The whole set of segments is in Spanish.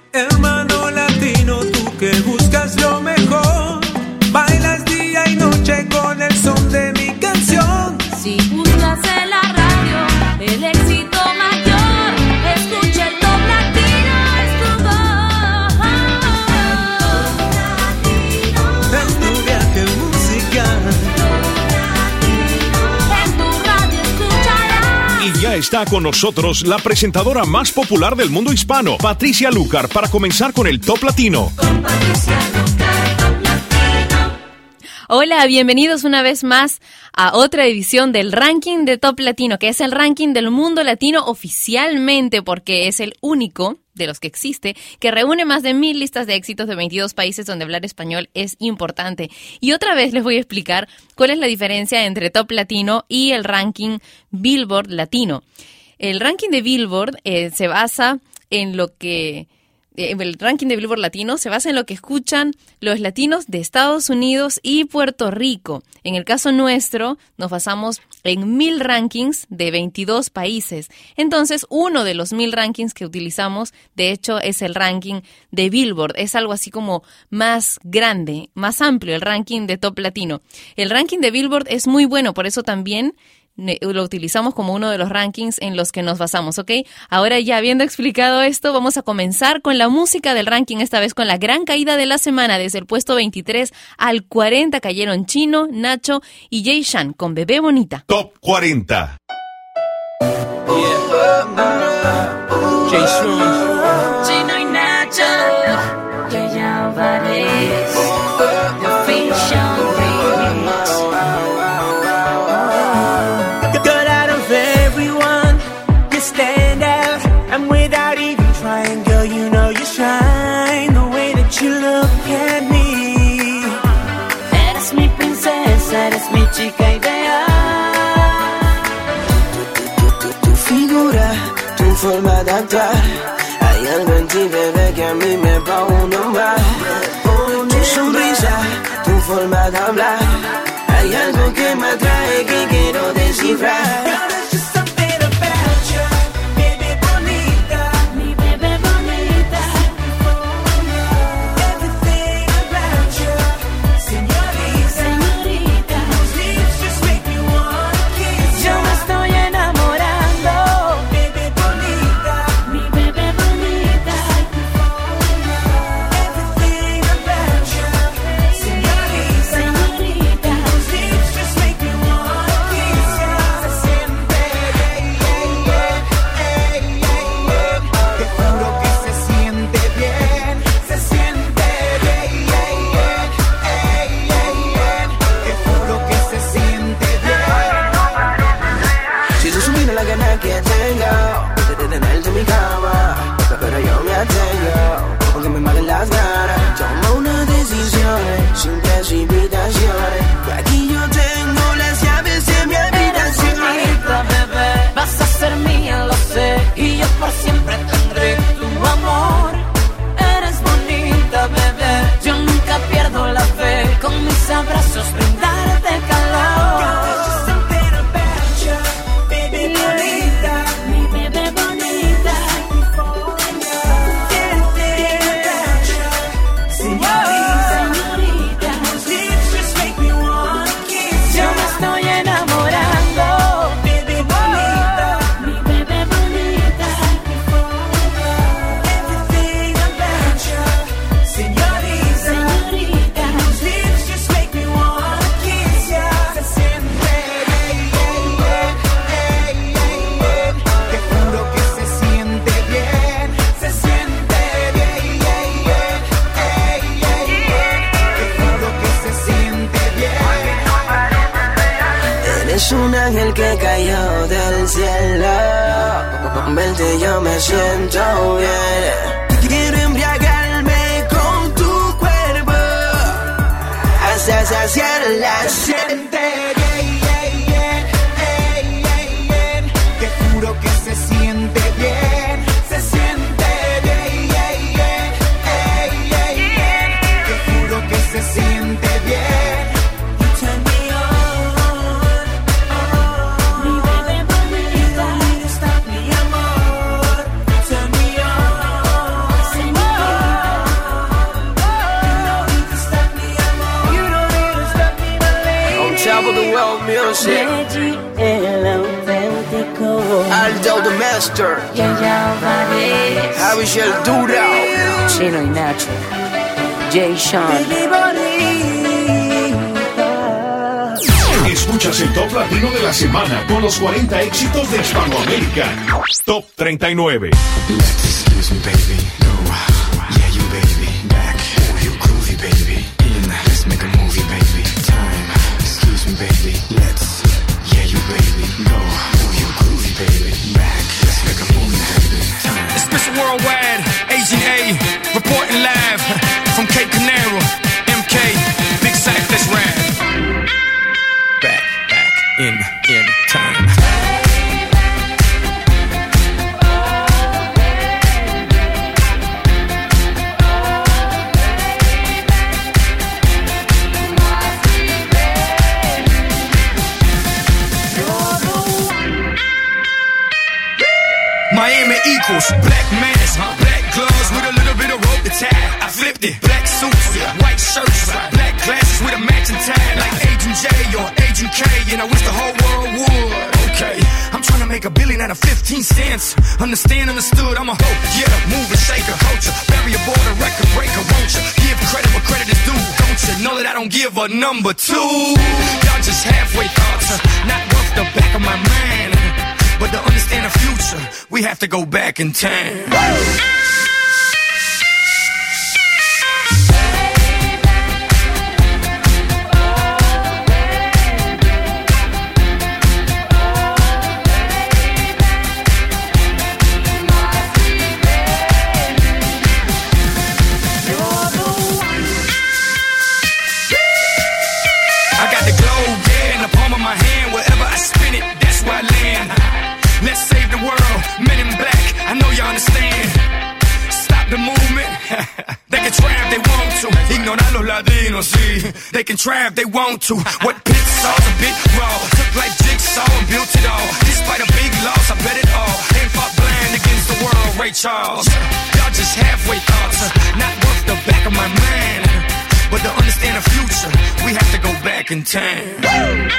Hermano latino, tú que buscas lo mejor, bailas día y noche con el son de mi canción. Si buscas en la radio el éxito mayor, escucha el Top Latino, es tu voz. Es tu viaje musical. En tu radio escucharás. Y ya está con nosotros la presentadora más popular del mundo hispano, Patricia Lucar, para comenzar con el Top Latino. Con Patricia Lucar, Top Latino. Hola, bienvenidos una vez más a otra edición del ranking de Top Latino, que es el ranking del mundo latino oficialmente, porque es el único de los que existe, que reúne más de 1000 listas de éxitos de 22 países donde hablar español es importante. Y otra vez les voy a explicar cuál es la diferencia entre Top Latino y el ranking Billboard Latino. El ranking de Billboard se basa en lo que... El ranking de Billboard Latino se basa en lo que escuchan los latinos de Estados Unidos y Puerto Rico. En el caso nuestro, nos basamos en 1000 rankings de 22 países. Entonces, uno de los 1000 rankings que utilizamos, de hecho, es el ranking de Billboard. Es algo así como más grande, más amplio, el ranking de Top Latino. El ranking de Billboard es muy bueno, por eso también lo utilizamos como uno de los rankings en los que nos basamos, ¿ok? Ahora ya habiendo explicado esto, vamos a comenzar con la música del ranking, esta vez con la gran caída de la semana. Desde el puesto 23 al 40 cayeron Chino, Nacho y Jay Sean con Bebé Bonita. Top 40. Jay Sean, Chino y Nacho, Yaya Álvarez, The Fiction Remix. Girl, out of everyone, you stand out. And without even trying, girl, you know you shine. The way that you look at me. Eres mi princesa, eres mi chica ideal. Tu figura, tu forma de actuar. Hay algo en ti, bebé, que a mí me va a nombrar. Tu sonrisa, tu forma de hablar. Hay algo que me atrae que quiero descifrar. Mi bebé bonita. Señorita. Yo me estoy enamorando. Mi bebé bonita. Señorita. Te juro que se siente bien, se siente bien. Te juro que se siente bien. Si tú supieras la gana que tengo de tenerte en mi cama, pero yo me atengo, porque me matan las ganas. Toma una decisión sin precipitaciones. Y aquí yo tengo las llaves de mi habitación. Señorita, bebé, vas a ser mía, lo sé. Y yo por siempre tendré tu amor. Eres bonita, bebé. Yo nunca pierdo la fe. Con mis abrazos brindarte calor. Mi bebé bonita. Señorita. Yo me estoy enamorando. Mi bebé bonita. Señorita. Te juro que se siente bien, se siente bien. Te juro que se siente bien. Eres un ángel que cayó del cielo. Con verte yo me siento bien. Quiero embriagarme con tu cuerpo hasta saciar la siente. Te juro que se siente bien, se siente bien. Te juro que se siente bien. Turn me on. Mi bebé bonita. Stop mi amor. Turn me on. Señorita. music. Reggie el auténtico. Aldo the Master. Yaya Valdez. Javi Sheldura. Chino y Nacho. Jay Sean. Escuchas el Top Latino de la semana con los 40 éxitos de Hispanoamérica. Top 39. Excuse me, baby. No, yeah, you baby. Back, oh, you groovy, baby. In, let's make a movie, baby. Time, excuse me, baby. Let's, yeah, you baby. Go, oh, you groovy, baby. Back, let's make a movie, baby. Time. It's Mr. Worldwide, Agent A, reporting live from Cape Canaveral. MK, Big Sack, let's ride. Back, in time. Miami equals black mask, black gloves with a little bit of rope to tie. I flipped it, black suits, white shirts, black glasses with a matching tie, like Agent J or Agent K, and I wish the whole world would. Okay, I'm trying to make $1 billion out of 15 cents. Understand, understood, I'm a hoe, yeah, mover, shaker, culture, barrier border, record breaker, won't you? Give credit where credit is due, don't you? Know that I don't give a number two. Y'all just halfway thoughts, not worth the back of my mind. But to understand the future, we have to go back in time. I got the globe, yeah, in the palm of my hand. Wherever I spin it, that's where I land. Let's save the world, men in black, I know you understand. Stop the movement, they can try if they want to. Ignorar los latinos, sí, they can try if they want to. What Pitts saw's a bit raw, took like jigsaw and built it all. Despite a big loss, I bet it all. Ain't fought blind against the world, Ray Charles. Y'all just halfway thoughts, not worth the back of my mind. But to understand the future, we have to go back in time.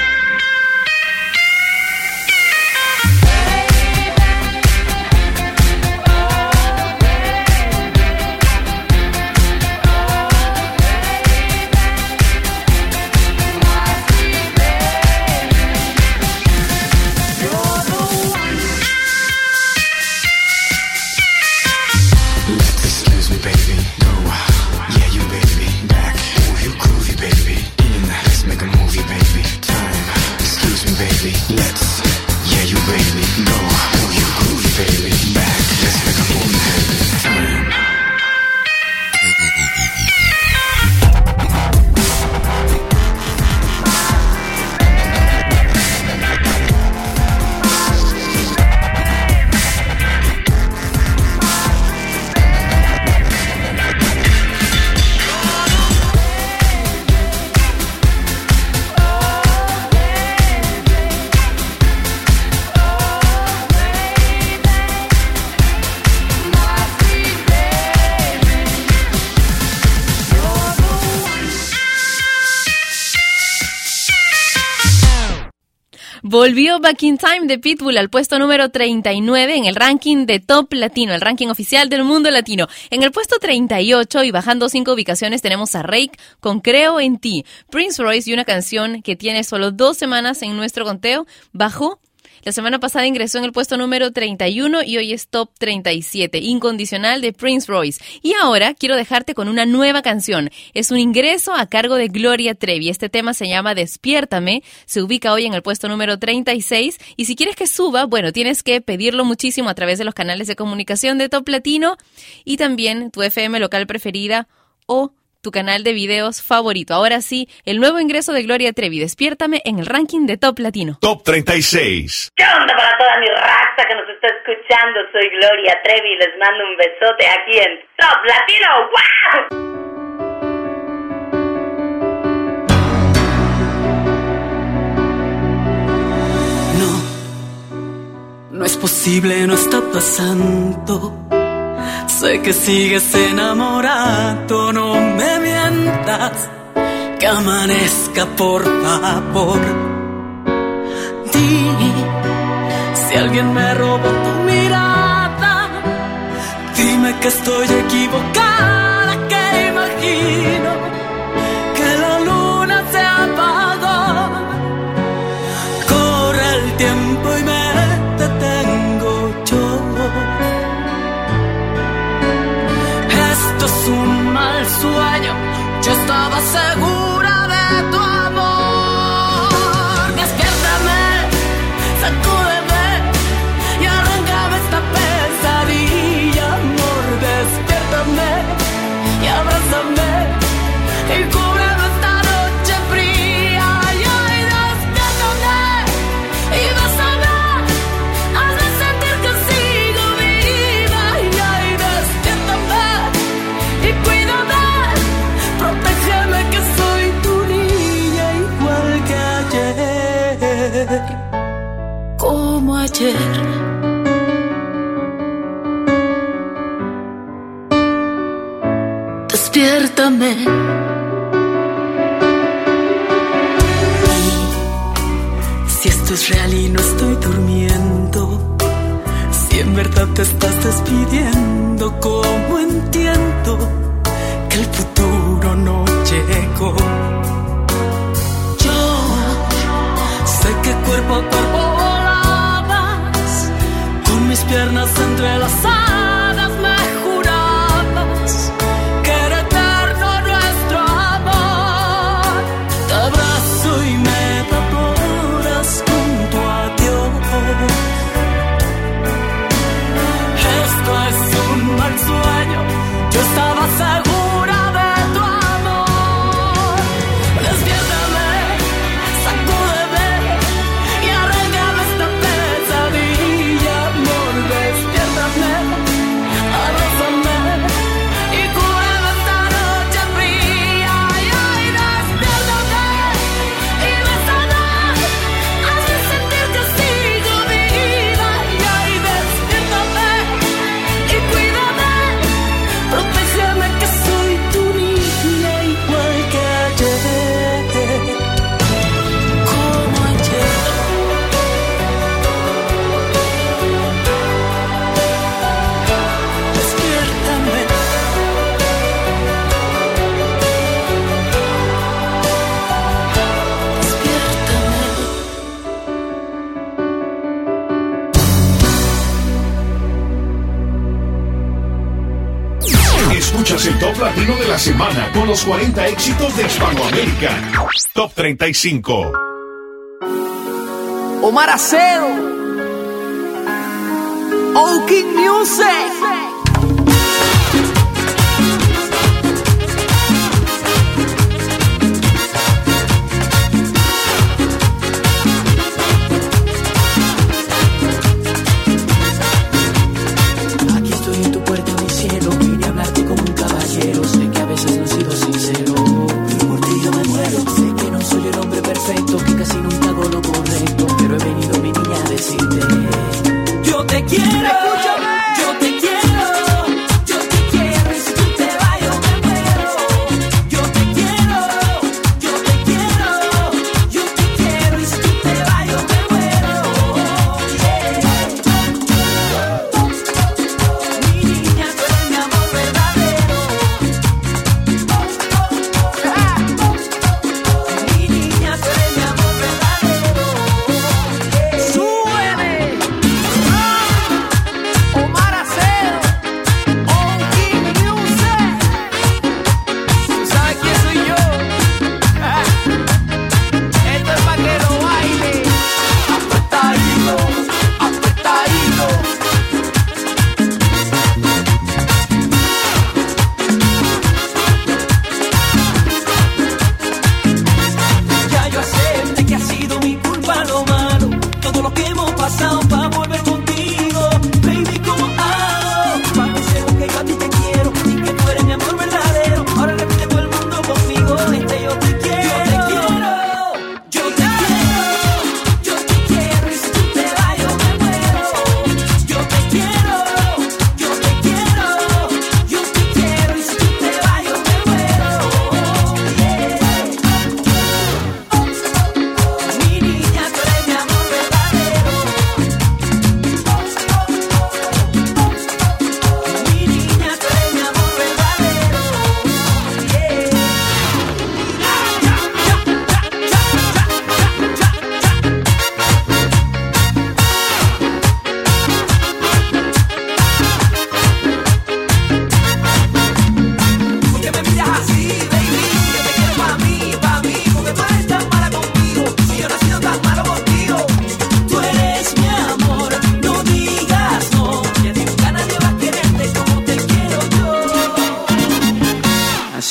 Volvió Back in Time de Pitbull al puesto número 39 en el ranking de Top Latino, el ranking oficial del mundo latino. En el puesto 38 y bajando 5 ubicaciones tenemos a Rake con Creo en Ti. Prince Royce y una canción que tiene solo 2 semanas en nuestro conteo bajó. La semana pasada ingresó en el puesto número 31 y hoy es Top 37, Incondicional de Prince Royce. Y ahora quiero dejarte con una nueva canción. Es un ingreso a cargo de Gloria Trevi. Este tema se llama Despiértame. Se ubica hoy en el puesto número 36. Y si quieres que suba, bueno, tienes que pedirlo muchísimo a través de los canales de comunicación de Top Latino y también tu FM local preferida o tu canal de videos favorito. Ahora sí, el nuevo ingreso de Gloria Trevi, Despiértame, en el ranking de Top Latino. Top 36. ¿Qué onda para toda mi raza que nos está escuchando? Soy Gloria Trevi y les mando un besote aquí en Top No, no es posible, no está pasando. Sé que sigues enamorado, no me mientas, que amanezca por favor. ti. Si alguien me robó tu mirada, dime que estoy equivocada, que imagino que la luna se apagó. Corre el tiempo y me detengo yo. Esto es un mal sueño, yo estaba segura de tu amor. Despiértame, sacúdeme y arráncame esta pesadilla, amor. Despiértame y abrázame y cúbreme esta noche fría. Y ay, despiértame y bésame, hazme sentir que sigo viva. Y ay, despiértame y cuídame, protégeme que soy tu niña igual que ayer, como ayer. Despiértame. Si esto es real y no estoy durmiendo, si en verdad te estás despidiendo, ¿cómo entiendo que el futuro no llegó? Yo sé que cuerpo a cuerpo volabas, con mis piernas entrelazadas me jurabas que era eterno nuestro amor. Te abrazo y me evaporas con tu adiós. Esto es un mal sueño, yo estaba segura de tu amor. Despiértame, sacúdeme y arráncame esta pesadilla, amor. Despiértame, abrázame y cúbreme esta noche fría. Y ay, despiértame y bésame, hazme sentir que sigo viva. Y ay, despiértame y cuídame, protégeme que soy tu niña igual que ayer, como ayer. Despiértame. Escuchas el Top Latino de la semana con los 40 éxitos de Hispanoamérica. Top 35. Omar Acedo, Oaking Music. Aquí estoy en tu puerta, mi cielo. Vine a hablarte como un caballero. Sé que a veces no he sido sincero, pero por ti yo me muero. Sé que no soy el hombre perfecto, que casi nunca hago lo correcto, pero he venido, mi niña, a decirte: yo te quiero, yo te quiero.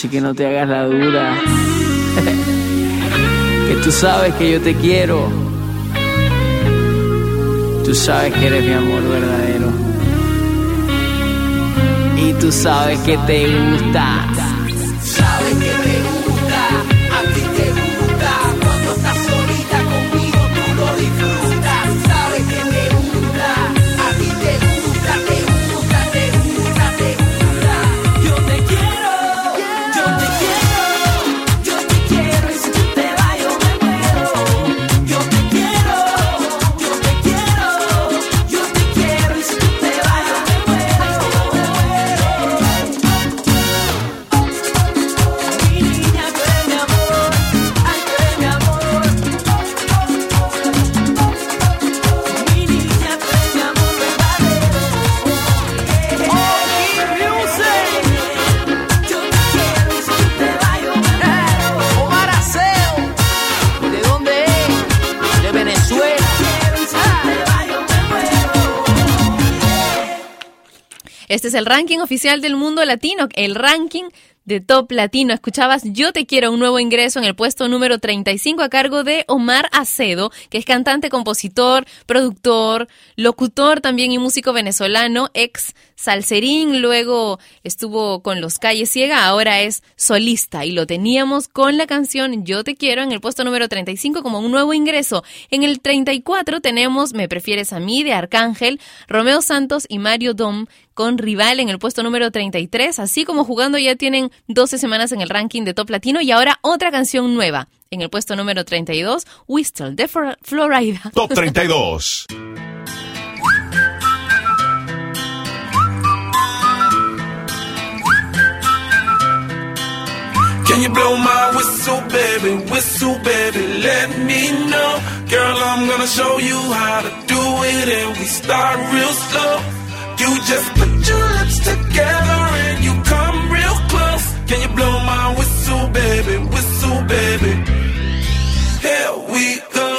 Así que no te hagas la dura. Que tú sabes que yo te quiero. Tú sabes que eres mi amor verdadero. Y tú sabes que te gusta. Sabes que te gusta, a ti te gusta. Cuando estás solita conmigo tú lo disfrutas. Sabes que te gusta, a ti te gusta, te gusta, te gusta, te gusta. Yo te quiero, yo te quiero, yo te quiero. Y si tú te vas yo me muero. Yo te quiero, yo te quiero, yo te quiero. Y si tú te vas yo me muero. Mi niña, tú eres mi amor, ay, tú eres mi amor. Mi niña, tú eres mi amor verdadero. Yo te quiero y si tú te vas yo me muero. Omar Aceo. ¿De dónde es? De Venezuela. Quiero y si tú te vas yo me muero. Este es el ranking oficial del mundo latino, el ranking de Top Latino. Escuchabas Yo Te Quiero, un nuevo ingreso en el puesto número 35 a cargo de Omar Acedo, que es cantante, compositor, productor, locutor también y músico venezolano, ex salserín, luego estuvo con Los Calle Ciega, ahora es solista y lo teníamos con la canción Yo Te Quiero en el puesto número 35 como un nuevo ingreso. En el 34 tenemos Me Prefieres a Mí de Arcángel, Romeo Santos y Mario Dom con Rival en el puesto número 33, así como jugando ya tienen 12 semanas en el ranking de Top Latino y ahora otra canción nueva. En el puesto número 32, Whistle de Florida. Top 32. Can you blow my whistle, baby, let me know. Girl, I'm gonna show you how to do it and we start real slow. You just put your lips together and you come real close. Can you blow my whistle, baby? Here we go.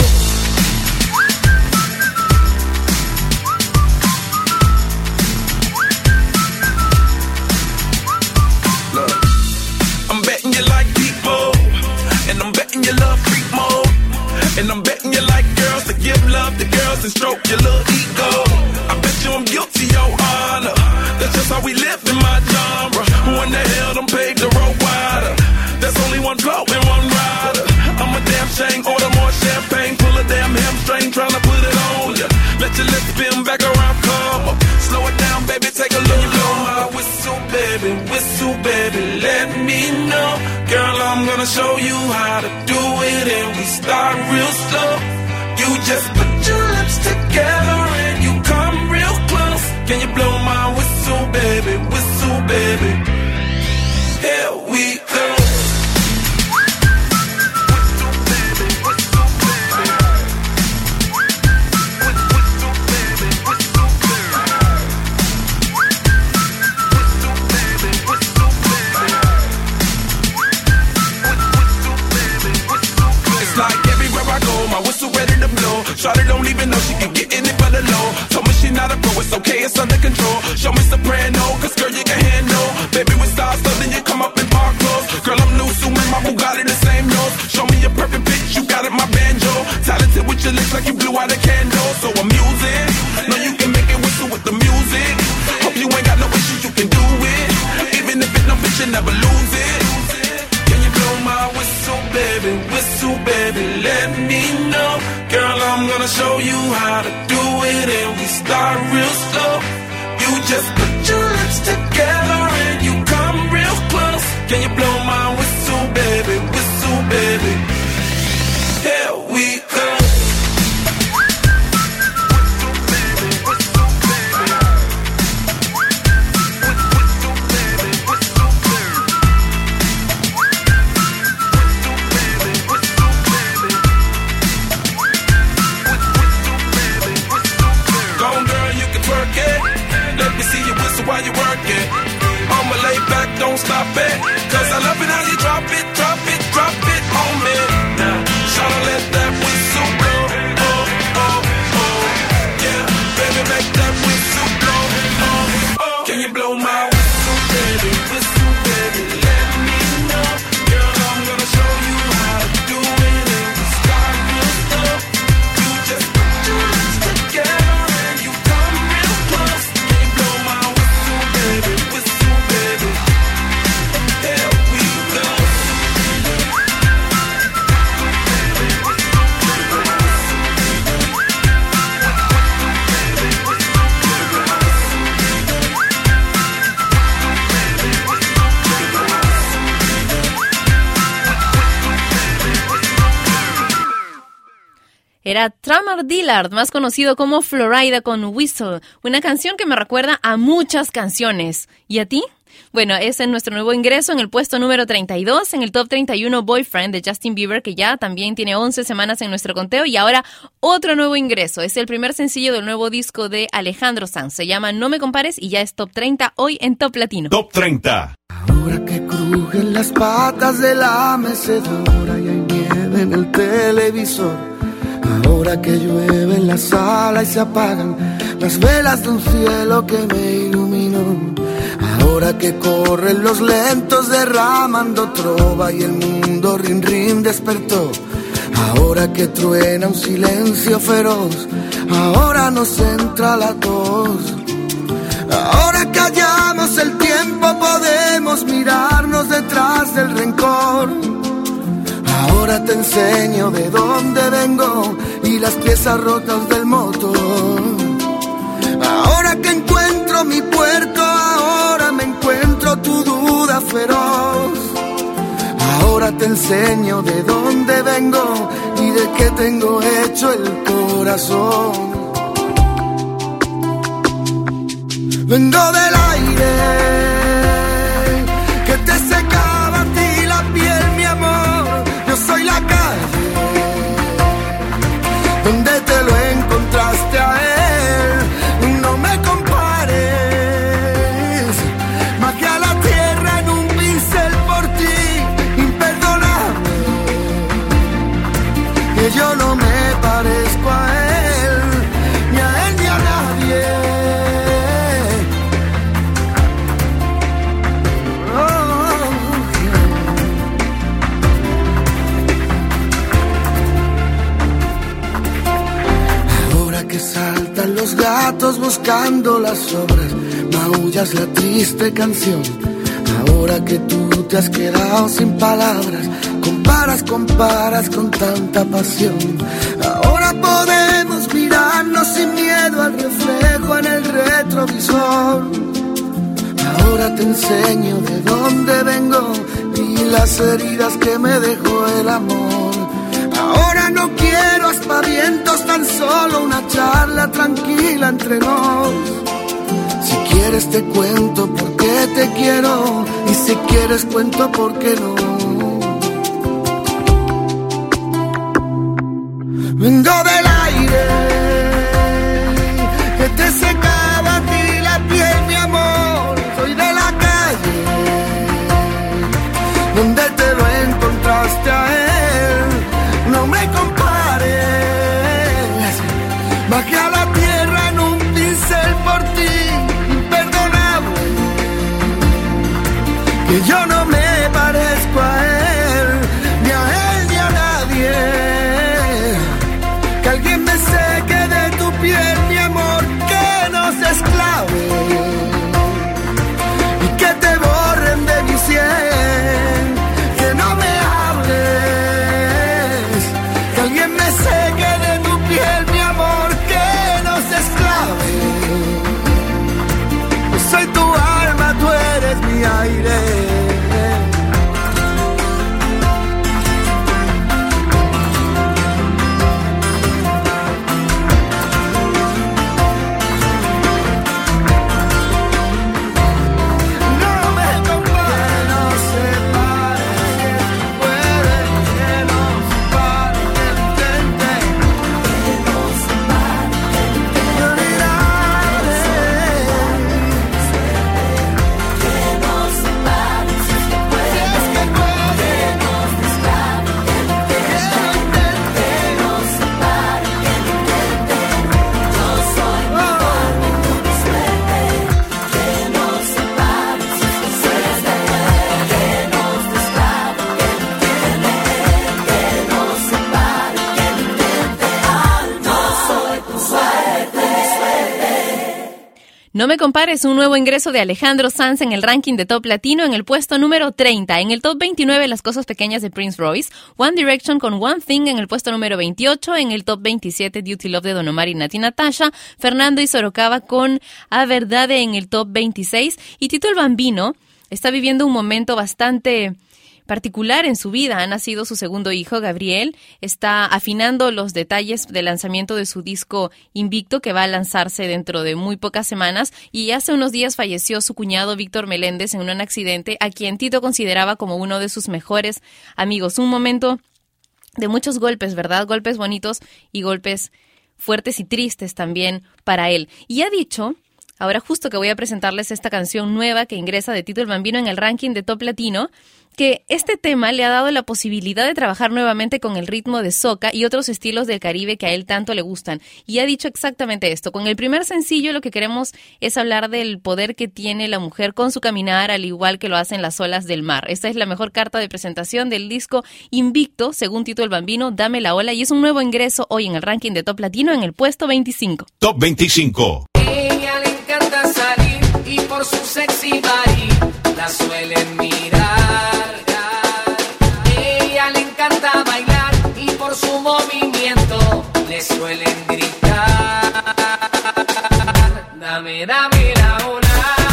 Look, I'm betting you like people, and I'm betting you love freak mode, and I'm betting you like girls to give love to girls and stroke your little ego. I bet you I'm guilty, your honor. That's just how we live in my genre. Who in the hell done paved the road wider? There's only one blow and one rider. I'm a damn shame, order more champagne, pull a damn hamstring, tryna put it on ya. Let your lips spin back around, come up. Slow it down, baby, take a look. You blow my whistle, baby, let me know. Girl, I'm gonna show you how to do it and we start real slow. You just put your lips together and you come real close. Can you blow my whistle, baby? Here we go. It's like everywhere I go, my whistle ready to blow. Shawty don't even know she can get in it for the low. Told me she not a pro, it's okay, it's under control. Show me soprano, cause girl you can handle. Baby with stars, so then you come up in park clothes. Girl I'm new, so my Bugatti the same nose. Show me a perfect pitch, you got it, my banjo. Talented with your lips like you blew out a candle. So I'm using, know you can make it whistle with the music. Hope you ain't got no issues, you can do it. Even if it don't fit, you never lose it. Can you blow my whistle, baby, let me know. Girl, I'm gonna show you how to do it and we start real slow. You just put your lips together and you come real close. Can you blow my whistle, baby? Here we go. While you work it, I'ma lay back, don't stop it. Cause I love it how you drop it on me. Now, tryna let that whistle blow. Oh, yeah, baby, make that whistle blow. Oh, can you blow my whistle, baby, let me Era Tamar Dillard, más conocido como Florida con Whistle, una canción que me recuerda a muchas canciones. ¿Y a ti? Bueno, es en nuestro nuevo ingreso en el puesto número 32, en el Top 31 Boyfriend de Justin Bieber, que ya también tiene 11 semanas en nuestro conteo, y ahora otro nuevo ingreso. Es el primer sencillo del nuevo disco de Alejandro Sanz. Se llama No Me Compares y ya es Top 30 hoy en Top Latino. Top 30. Ahora que crujen las patas de la mecedora y hay nieve en el televisor. Ahora que llueve en la sala y se apagan las velas de un cielo que me iluminó. Ahora que corren los lentos derramando trova y el mundo rin rin despertó. Ahora que truena un silencio feroz, ahora nos entra la tos. Ahora que hallamos el tiempo podemos mirarnos detrás del rencor. Ahora te enseño de dónde vengo y las piezas rotas del motor. Ahora que encuentro mi puerto, ahora me encuentro tu duda feroz. Ahora te enseño de dónde vengo y de qué tengo hecho el corazón. Vengo del aire que te secaba a ti la piel, mi amor. Yo soy la calle donde te lo encontraste a él. No me compares, bajé a la tierra en un pincel por ti, imperdonable. Que yo no me parezco a él, ni a él ni a nadie. Saltan los gatos buscando las sobras, maullas la triste canción. Ahora que tú te has quedado sin palabras, comparas con tanta pasión. Ahora podemos mirarnos sin miedo al reflejo en el retrovisor. Ahora te enseño de dónde vengo y las heridas que me dejó el amor. Ahora no quiero aspavientos, tan solo una charla tranquila entre nos. Si quieres te cuento por qué te quiero y si quieres cuento por qué no. Vengo del aire que te secaba a ti la piel, mi amor. Soy de la calle donde te lo encontraste a él. No me compares, bajé a la tierra en un pincel por ti, imperdonable. Que yo no me parezco a él, ni a él ni a nadie. Que alguien me seque de tu piel, mi amor, que nos esclave y que te borren de mi sien, que no me hables. Alguien me seque de tu piel, mi amor, que nos esclave. Yo soy tu alma, tú eres mi aire. No me compares, un nuevo ingreso de Alejandro Sanz en el ranking de Top Latino en el puesto número 30. En el Top 29, Las Cosas Pequeñas de Prince Royce. One Direction con One Thing en el puesto número 28. En el Top 27, Duty Love de Don Omar y Nati Natasha. Fernando y Sorocaba con A Verdade en el Top 26. Y Tito el Bambino está viviendo un momento bastante particular en su vida. Ha nacido su segundo hijo, Gabriel. Está afinando los detalles del lanzamiento de su disco Invicto, que va a lanzarse dentro de muy pocas semanas. Y hace unos días falleció su cuñado Víctor Meléndez en un accidente, a quien Tito consideraba como uno de sus mejores amigos. Un momento de muchos golpes, ¿verdad? Golpes bonitos y golpes fuertes y tristes también para él. Y ha dicho, ahora justo que voy a presentarles esta canción nueva que ingresa de Tito el Bambino en el ranking de Top Latino, que este tema le ha dado la posibilidad de trabajar nuevamente con el ritmo de soca y otros estilos del Caribe que a él tanto le gustan. Y ha dicho exactamente esto. Con el primer sencillo lo que queremos es hablar del poder que tiene la mujer con su caminar, al igual que lo hacen las olas del mar. Esta es la mejor carta de presentación del disco Invicto, según Tito el Bambino, Dame la Ola, y es un nuevo ingreso hoy en el ranking de Top Latino en el puesto 25. Top 25. Ella le encanta salir y por su sexy body la suelen mirar. Ella le encanta bailar y por su movimiento le suelen gritar. Dame, dame la ola.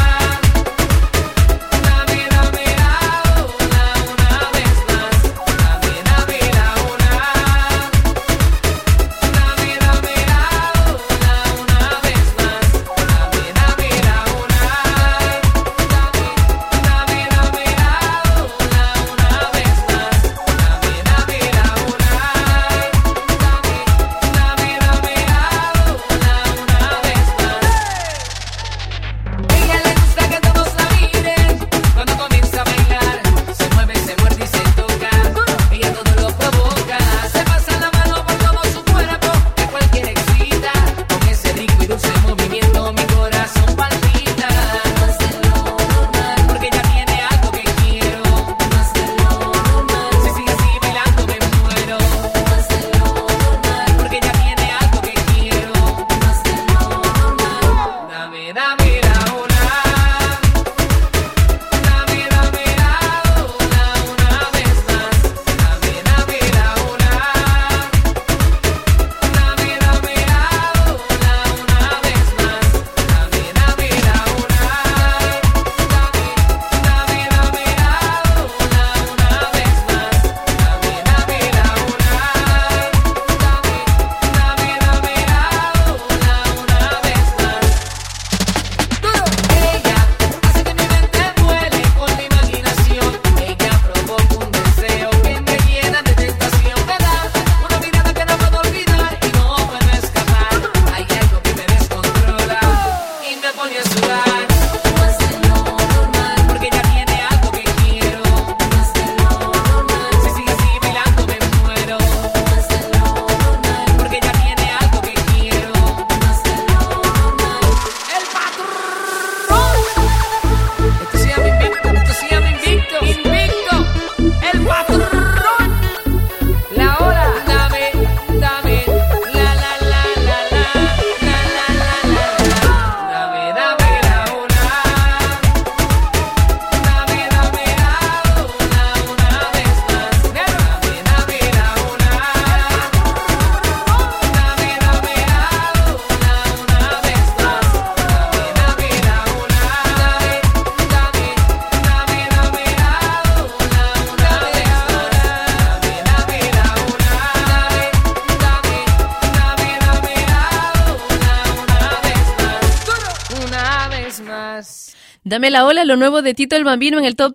Dame la ola, lo nuevo de Tito el Bambino en el top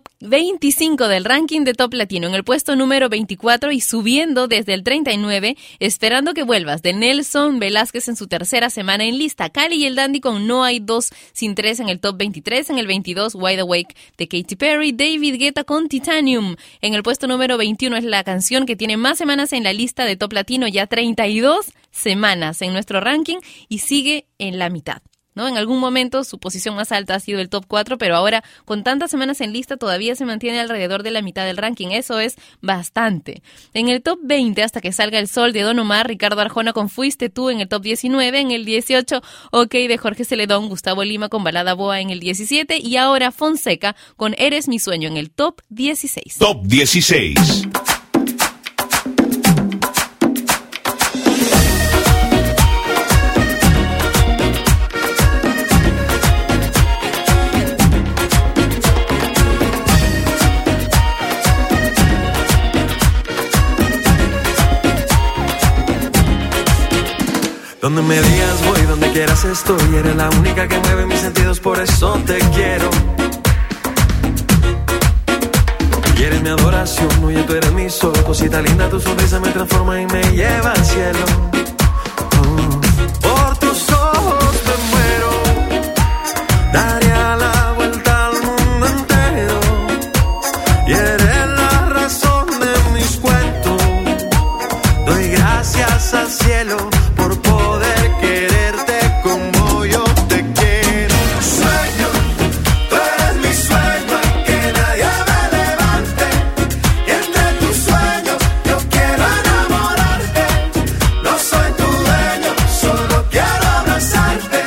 25 del ranking de Top Latino, en el puesto número 24 y subiendo desde el 39, Esperando que vuelvas, de Nelson Velázquez en su tercera semana en lista. Cali y el Dandy con No hay dos sin tres en el top 23, en el 22, Wide Awake de Katy Perry, David Guetta con Titanium. En el puesto número 21 es la canción que tiene más semanas en la lista de Top Latino, ya 32 semanas en nuestro ranking y sigue en la mitad, ¿no? En algún momento su posición más alta ha sido el top 4, pero ahora con tantas semanas en lista todavía se mantiene alrededor de la mitad del ranking. Eso es bastante. En el top 20, Hasta que salga el sol de Don Omar, Ricardo Arjona con Fuiste tú en el top 19, en el 18, OK de Jorge Celedón, Gustavo Lima con Balada Boa en el 17 y ahora Fonseca con Eres mi sueño en el top 16. Top 16. Donde me digas voy, donde quieras estoy. Eres la única que mueve mis sentidos, por eso te quiero. Y eres mi adoración, oye, tú eres mi sol. Cosita linda, tu sonrisa me transforma y me lleva al cielo. Por tus ojos me muero. Daría la vuelta al mundo entero. Y eres la razón de mis cuentos. Doy gracias al cielo por poder quererte como yo te quiero. Sueño, tú eres mi sueño, que nadie me levante. Y entre tus sueños yo quiero enamorarte. No soy tu dueño, solo quiero abrazarte.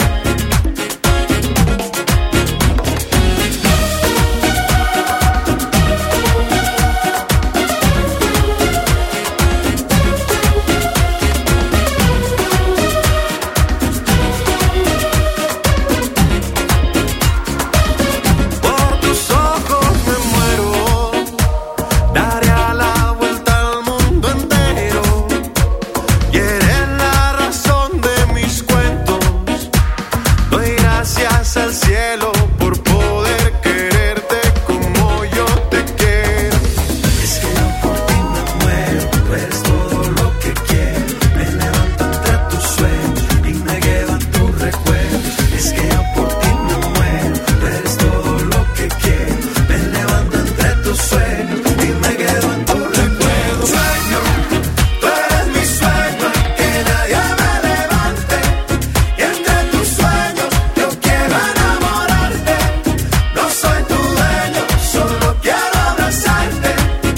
Por tus ojos me muero. Daría la vuelta al mundo entero. Y eres la razón de mis cuentos. Doy gracias al cielo por poder quererte como yo te quiero. Es que yo por ti me muero. Tú eres todo lo que quiero. Me levanto entre tus sueños y me quedo en tus recuerdos. Es que yo por ti me muero. Tú eres todo lo que quiero. Me levanto entre tus sueños y me quedo en tus recuerdos. Sueño, tú eres mi sueño, que nadie me levante. Y entre tus sueños yo quiero enamorarte. No soy tu dueño, solo quiero abrazarte.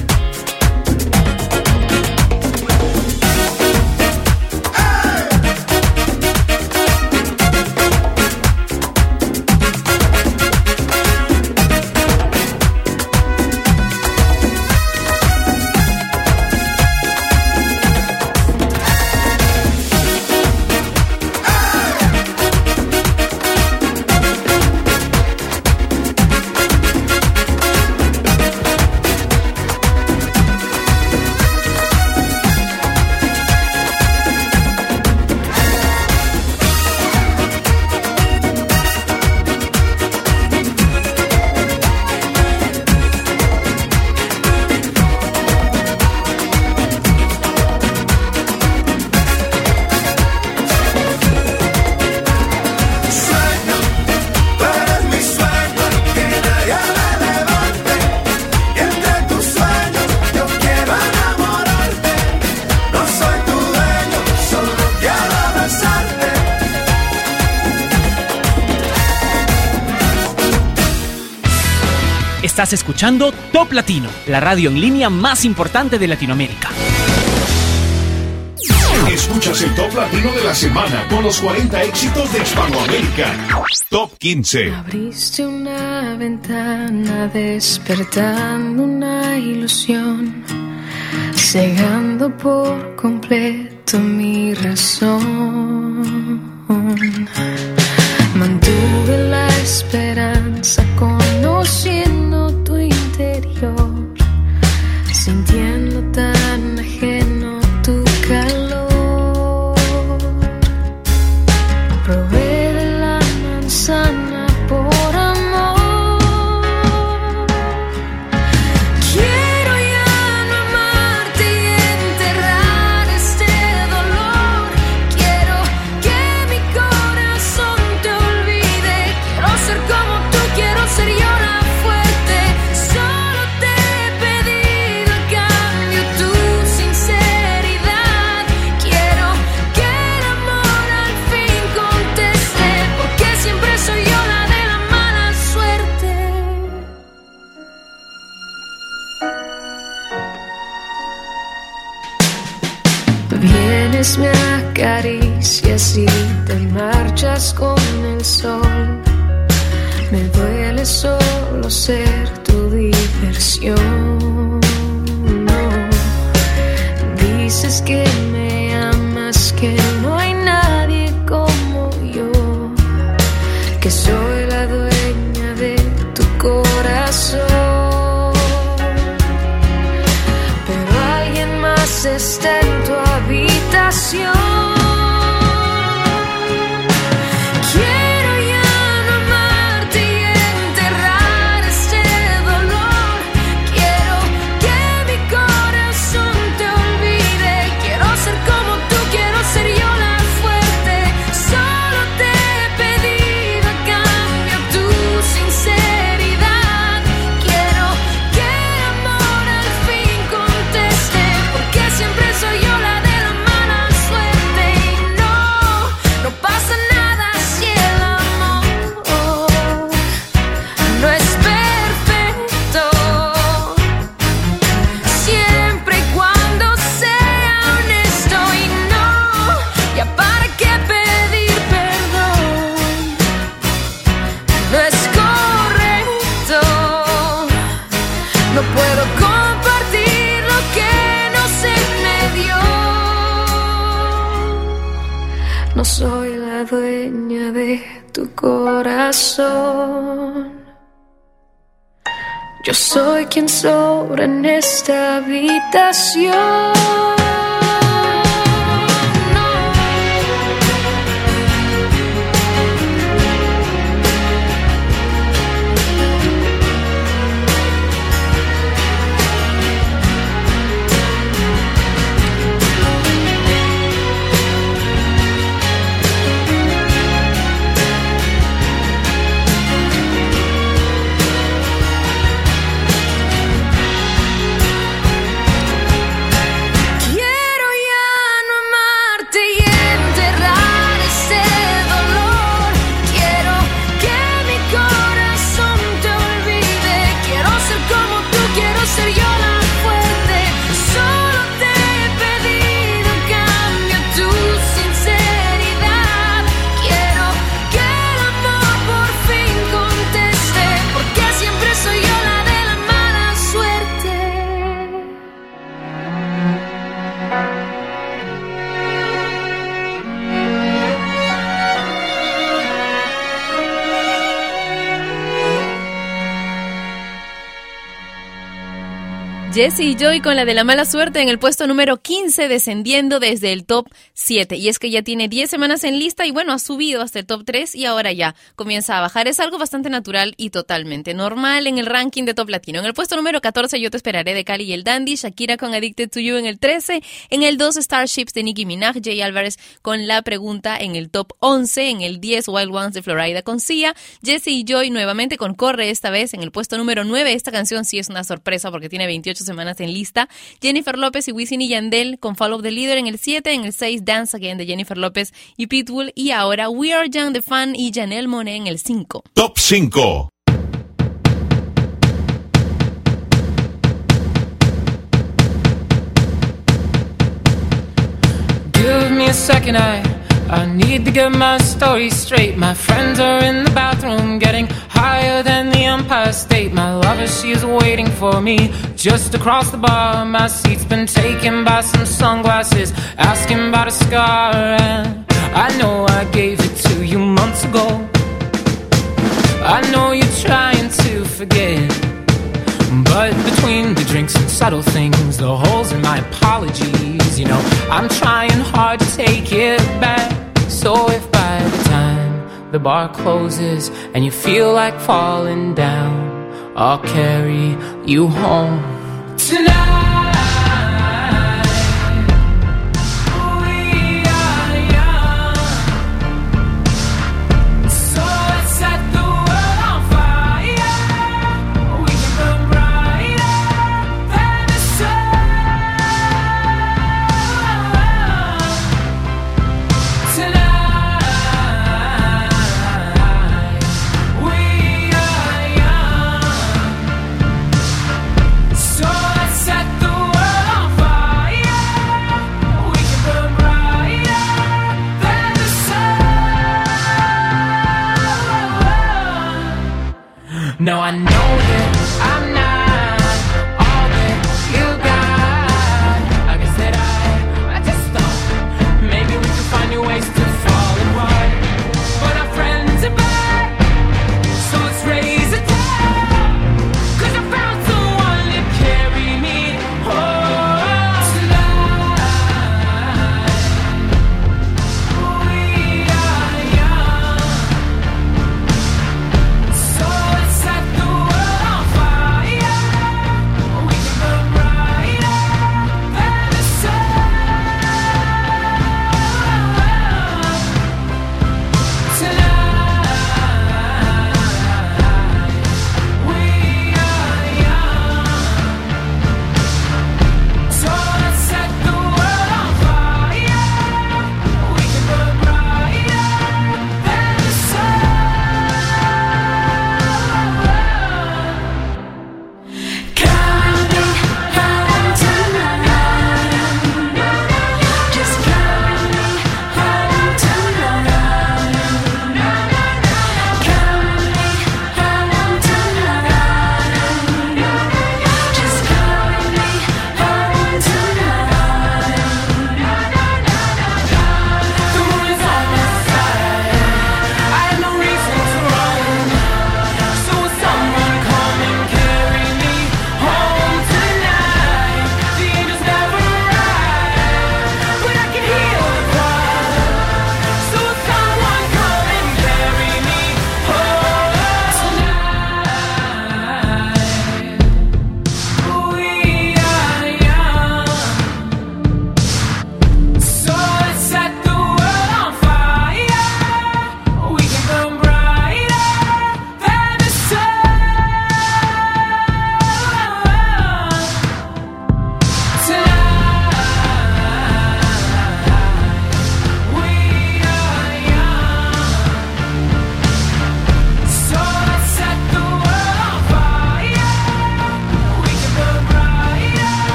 Sueño, tú eres mi sueño, que nadie me levante. Y entre tus sueños yo quiero enamorarte. No soy tu dueño, solo quiero abrazarte. Estás escuchando Top Latino, la radio en línea más importante de Latinoamérica. Escuchas el Top Latino de la semana con los 40 éxitos de Hispanoamérica. Top 15. Abriste una ventana despertando una ilusión, cegando por completo mi razón. Mantuve la esperanza conociendo tu interior, sintiendo tan ajeno tu calor. Probé de la manzana por amor. Quiero ya no amarte y enterrar este dolor. Quiero que mi corazón te olvide. Quiero ser como tú, quiero ser yo la fuerte. Solo te he pedido a cambio tu sinceridad. Quiero que el amor al fin conteste, porque siempre soy yo la de la mala suerte. Vienes, me acaricias y te marchas con el sol. Me duele solo ser tu diversión. No. Dices que me amas, que no hay nadie como yo, que soy la dueña de tu corazón. Pero alguien más está en tu habitación. dueña de tu corazón. Yo soy quien sobra en esta habitación. Jessie Joy con la de la mala suerte en el puesto número 15, descendiendo desde el top 7. Y es que ya tiene 10 semanas en lista y bueno, ha subido hasta el top 3 y ahora ya comienza a bajar. Es algo bastante natural y totalmente normal en el ranking de Top Latino. En el puesto número 14, Yo te esperaré de Cali y el Dandy, Shakira con Addicted to You en el 13. En el 2, Starships de Nicki Minaj, Jay Álvarez con La Pregunta en el top 11. En el 10, Wild Ones de Florida con Sia. Jessie Joy nuevamente con Corre, esta vez en el puesto número 9. Esta canción sí es una sorpresa porque tiene 28 semanas en lista. Jennifer López y Wisin y Yandel con Follow the Leader en el 7, en el 6 Dance Again de Jennifer López y Pitbull y ahora We Are Young de Fan y Janelle Monáe en el 5. Top 5. Give me a second, I need to get my story straight. My friends are in the bathroom getting higher than the Empire State. My lover, she is waiting for me just across the bar. My seat's been taken by some sunglasses, asking about a scar. And I know I gave it to you months ago. I know you're trying to forget, but between the drinks and subtle things, the holes in my apologies, you know, I'm trying hard to take it back. So if by the time the bar closes and you feel like falling down, I'll carry you home tonight. Set the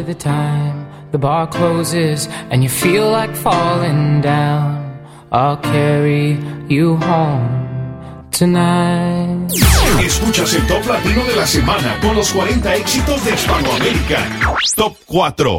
the time the bar closes and you feel like falling down, I'll carry you home tonight. Escuchas el Top Latino de la semana con los 40 éxitos de Hispanoamérica. Top 4.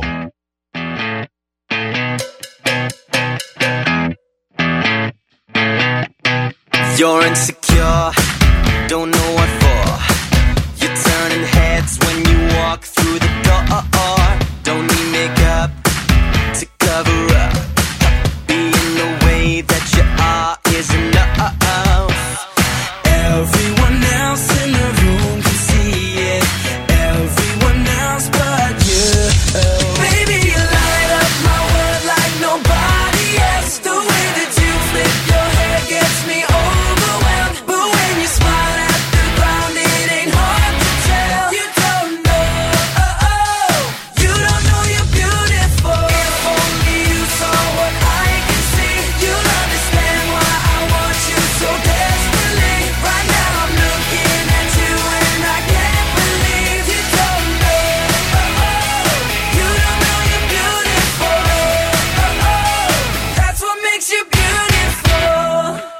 You're insecure, don't know what for. You're turning heads when you walk through the door. Don't need makeup to cover up. Being the way that you are is enough. Everyone else in the room can see it. Everyone else but you. Baby, you light up my world like nobody else. The way that you flip your hair gets me overwhelmed. But when you smile at the ground, it ain't hard to tell. You don't know, you don't know you're beautiful. If only you saw what I can see, you'll understand why I want you so desperately. Right now I'm looking at you and I can't believe you don't know, you don't know you're beautiful. That's what makes you beautiful.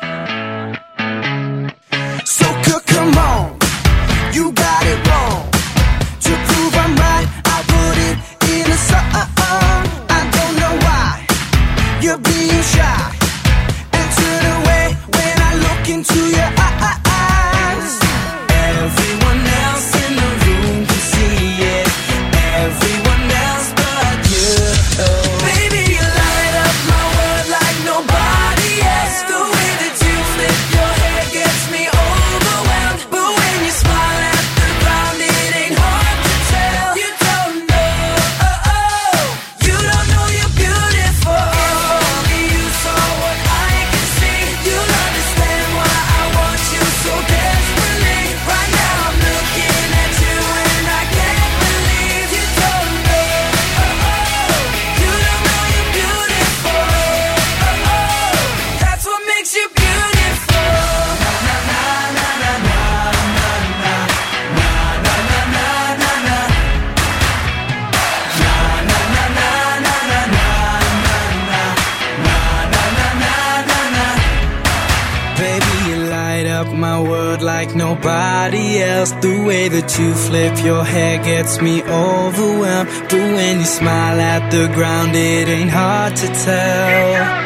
So come on, you got it wrong. To prove I'm right, I put it in a song. I don't know why you're being shy and turn away when I look into your eyes. Everyone else in the room can see it. Everyone else but you. Baby, you light up my world like nobody else. The way that you flip your hair gets me overwhelmed. But when you smile at the ground, it ain't hard to tell. You don't know, you don't know you're beautiful. If only you saw what I can see, you'll understand why I want you so desperately. Right now I'm looking at you and I can't believe you don't know, you don't know you're beautiful. That's what makes you beautiful. Na na na na na na na na na na na na na. Na na na na na na na na na na. Baby, you light up my world like nobody else. The way that you flip your hair gets me overwhelmed. But when you smile at the ground, it ain't hard to tell.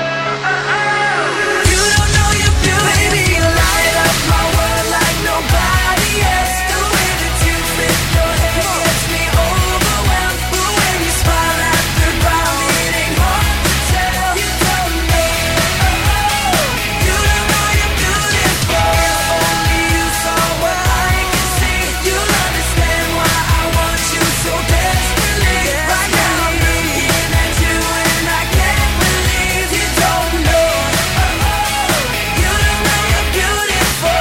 You don't know you're beautiful. Baby, you light up my world like nobody else. The way that you flip your hair gets me overwhelmed. But when you smile at the ground, it ain't hard to tell. You don't know, you don't know you're beautiful. If only you saw what I can see, you'll understand why I want you so desperately. Right now I'm looking at you and I can't believe you don't know, you don't know you're beautiful.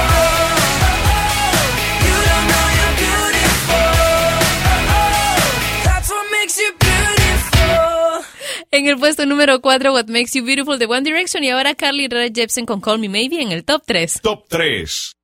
You don't know you're beautiful. That's what makes you beautiful. En el puesto número 4, What Makes You Beautiful de One Direction. Y ahora Carly Rae Jepsen con Call Me Maybe en el top 3. Top 3.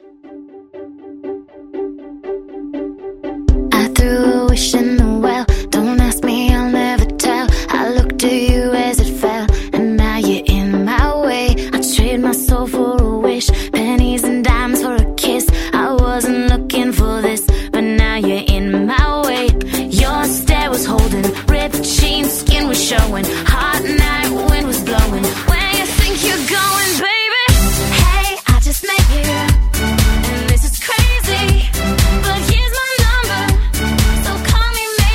I threw a wish in the well. Don't ask me, I'll never tell. I looked at you as it fell, and now you're in my way. I trade my soul for a wish, pennies and dimes for a kiss. I wasn't looking for this, but now you're in my way. Your stare was holding, ripped jeans, skin was showing. Hot night, wind was blowing. Where you think you're going, baby? Hey, I just met you, and this is crazy. But here's my number, so call me maybe.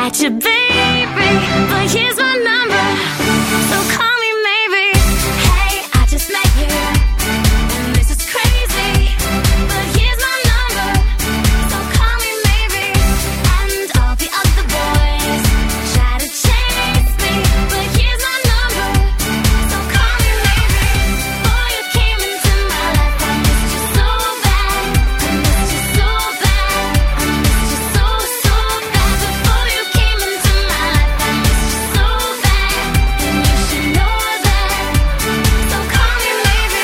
at you, baby, but here's my number, so call me maybe. Hey, I just met you, and this is crazy, but here's my number, so call me maybe. And all the other boys try to chase me, but here's my number, so call me maybe. Before you came into my life, I missed you so bad, I missed you so bad, I missed you so, so bad. Before you came into my life, I missed you so bad, and you should know that, so call me maybe.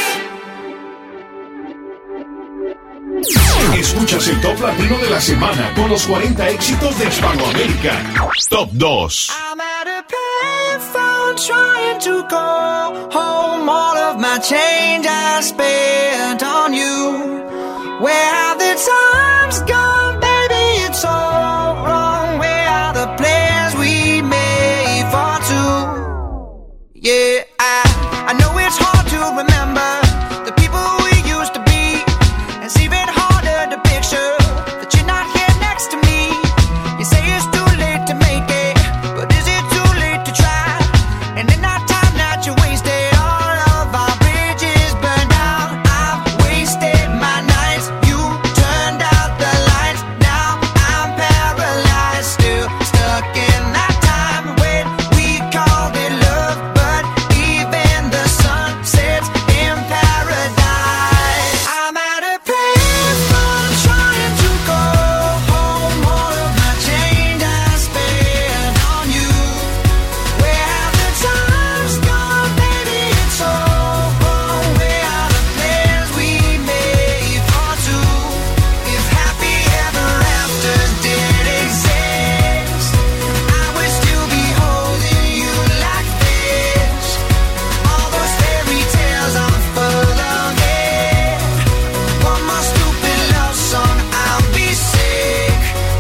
Escuchas el Top Latino de la semana con los 40 éxitos de Hispanoamérica. Top 2. I'm at a payphone trying to call home. All of my change I spent on you. Where have the times gone, baby? It's all wrong. Where are the plans we made for two? Yeah, I know it's hard to remember the people we used to be. It's even harder to picture that you're not here next to me. You say it's too late to make it, but is it too late to try? And in that time that you wasted, all of our bridges burned out. I've wasted my nights, you turned out the lights. Now I'm paralyzed, still stuck in that time when we called it love. But even the sun sets in paradise. I'm at a payphone trying to go home. All of my change I spent on you. Where have the times gone, baby? It's all wrong. Where are the plans we made for two? If happy ever afters did exist, I would still be holding you like this. All those fairy tales I'm full of it. One more stupid love song, I'll be sick.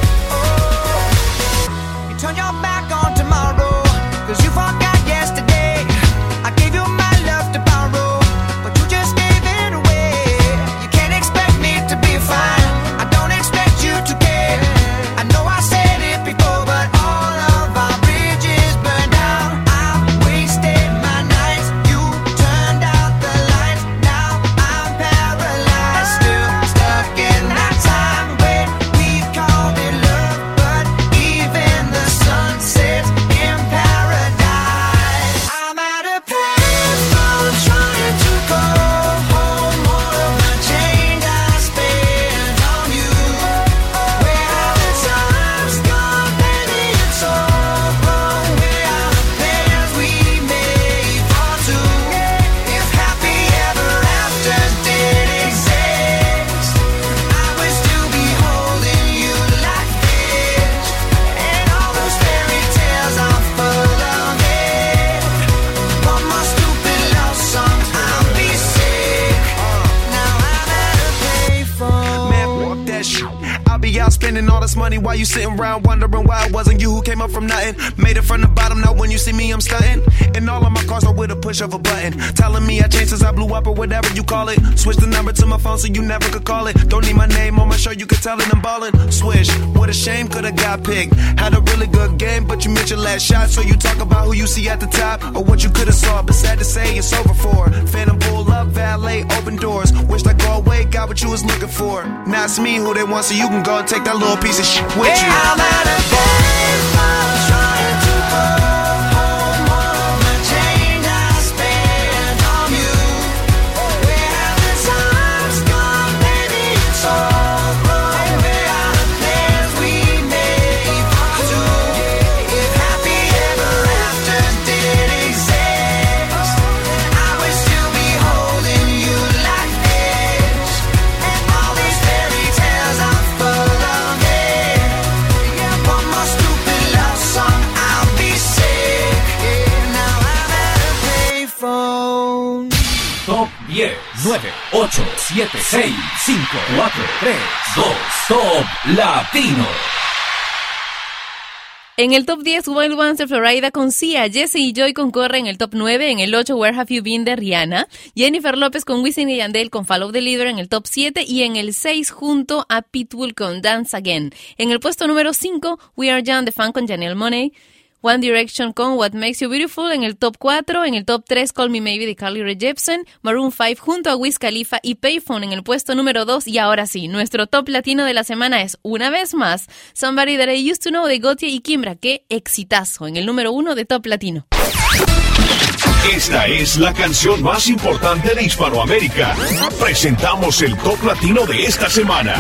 Oh, you turn your back on tomorrow, 'cause you forgot yesterday. I gave you my love to borrow, but you just gave it away. You can't expect me to be fine, I don't expect you to care. I know I said it before, but all of our bridges burned out. I've wasted my nights, you turned out the lights. Now I'm paralyzed, still stuck in that time when we called it love. But even the sun sets in paradise. I'm at a payphone trying to go home. All of my change I spent on you. Where are the times gone, baby? It's all wrong. Where are the plans we made for two? If happy ever afters did exist, I would still be holding you like this. And all those fairy tales are full of it. One more stupid love song, I'll be sick. Now I'm at a payphone. Man, fuck that shit. I'll be out spending all this money while you sitting around wondering why it wasn't you who came up from nothing. Made it from the bottom, now when you see me, I'm stunting. And all of my cars are with a push of a button. Telling me I changed since I blew up or whatever you call it. Switch the number to my phone so you never could call it. Don't need my name on my shirt, you can tell it I'm ballin'. Swish, what a shame, could've got picked. Had a really good game, but you missed your last shot. So you talk about who you see at the top or what you could've saw. But sad to say, it's over for. Phantom pull up, valet, open doors. Wished I go away, got what you was looking for. Now it's me who they want, so you can go and take that little piece of shit with you. I'm at a payphone trying to go home. All of my change I spent on you. Where have the times gone, baby? It's all wrong. Where are the plans we made for two? If happy ever afters did exist, I would still be holding you like this. And all these fairy tales are full of it. One more stupid love song, I'll be sick. Now I'm at a payphone. Top 10, 9, 8, 7, 6, 5, 4, 3, 2, Top Latino. En el top 10, Wild Ones de Florida con Sia. Jesse y Joy concurren en el top 9. En el 8, Where Have You Been de Rihanna. Jennifer López con Wisin y Yandel con Follow the Leader en el top 7. Y en el 6, junto a Pitbull con Dance Again. En el puesto número 5, We Are Young de Fan con Janelle Monáe. One Direction con What Makes You Beautiful en el top 4, en el top 3 Call Me Maybe de Carly Rae Jepsen, Maroon 5 junto a Wiz Khalifa y Payphone en el puesto número 2 y ahora sí, nuestro top latino de la semana es una vez más Somebody That I Used to Know de Gotye y Kimbra, qué exitazo en el número 1 de top latino. Esta es la canción más importante de Hispanoamérica. Presentamos el top latino de esta semana.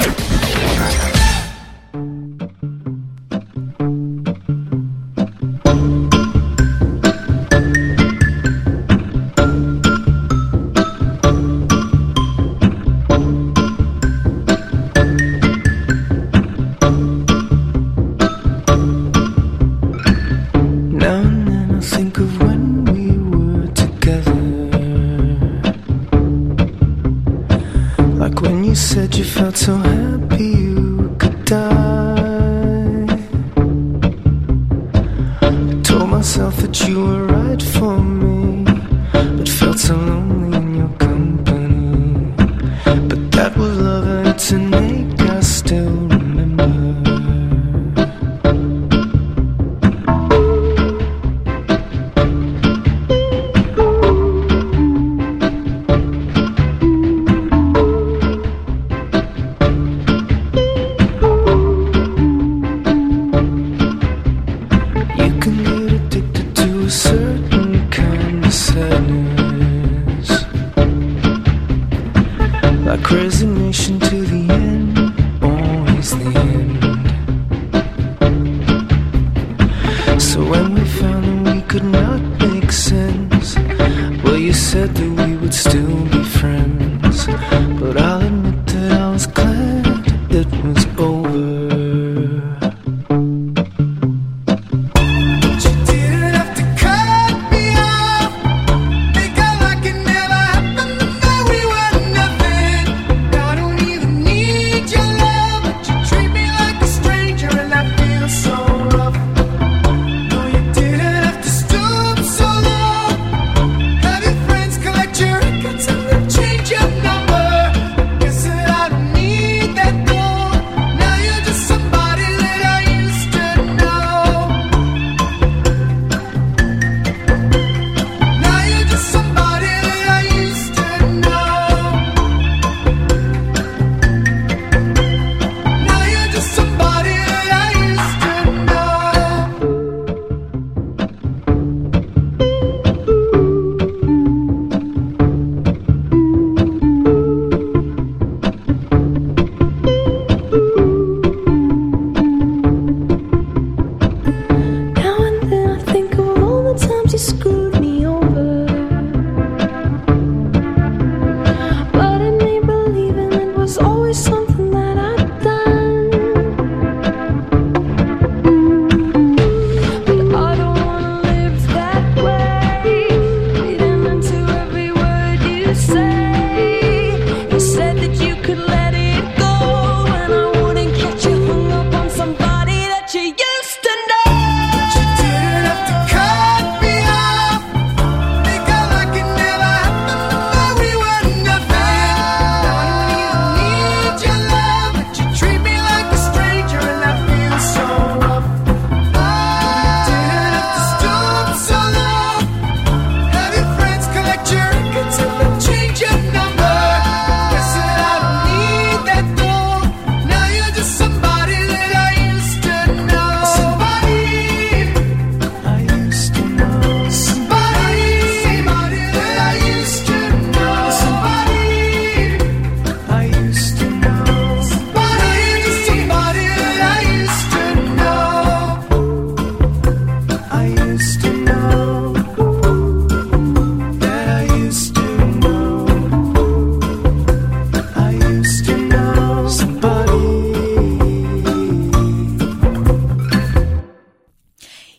Said you felt so happy you could die. I told myself that you were right for me, but felt so lonely in your company. But that was love and it's an ache I still remember. Resignation to the end, always the end. So when we found that we could not make sense, well, you said that we would still be friends. But I'll admit that I was glad it was over. Your records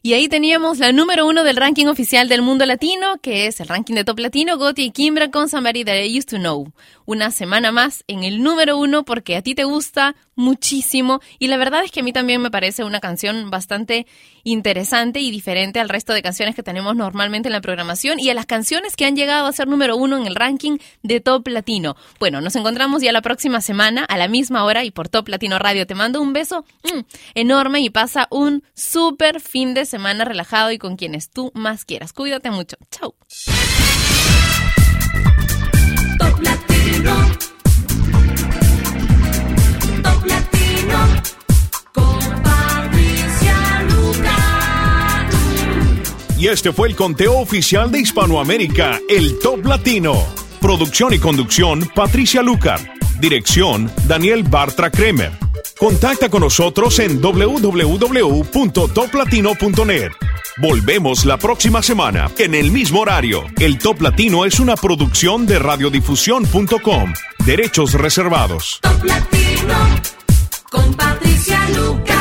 Y ahí teníamos la número 1 del ranking oficial del mundo latino, que es el ranking de Top Latino, Gotti y Kimbra con Somebody That I Used to Know. Una semana más en el número 1 porque a ti te gusta muchísimo y la verdad es que a mí también me parece una canción bastante interesante y diferente al resto de canciones que tenemos normalmente en la programación y a las canciones que han llegado a ser número 1 en el ranking de Top Latino. Bueno, nos encontramos ya la próxima semana a la misma hora y por Top Latino Radio. Te mando un beso enorme y pasa un súper fin de semana relajado y con quienes tú más quieras. Cuídate mucho. Chau. Top Latino. Top Latino. Con Patricia Lucar. Y este fue el conteo oficial de Hispanoamérica, el Top Latino. Producción y conducción, Patricia Lucar. Dirección, Daniel Bartra Kremer. Contacta con nosotros en www.toplatino.net. Volvemos la próxima semana, en el mismo horario. El Top Latino es una producción de radiodifusión.com. Derechos reservados. Top Latino con Patricia Lucar.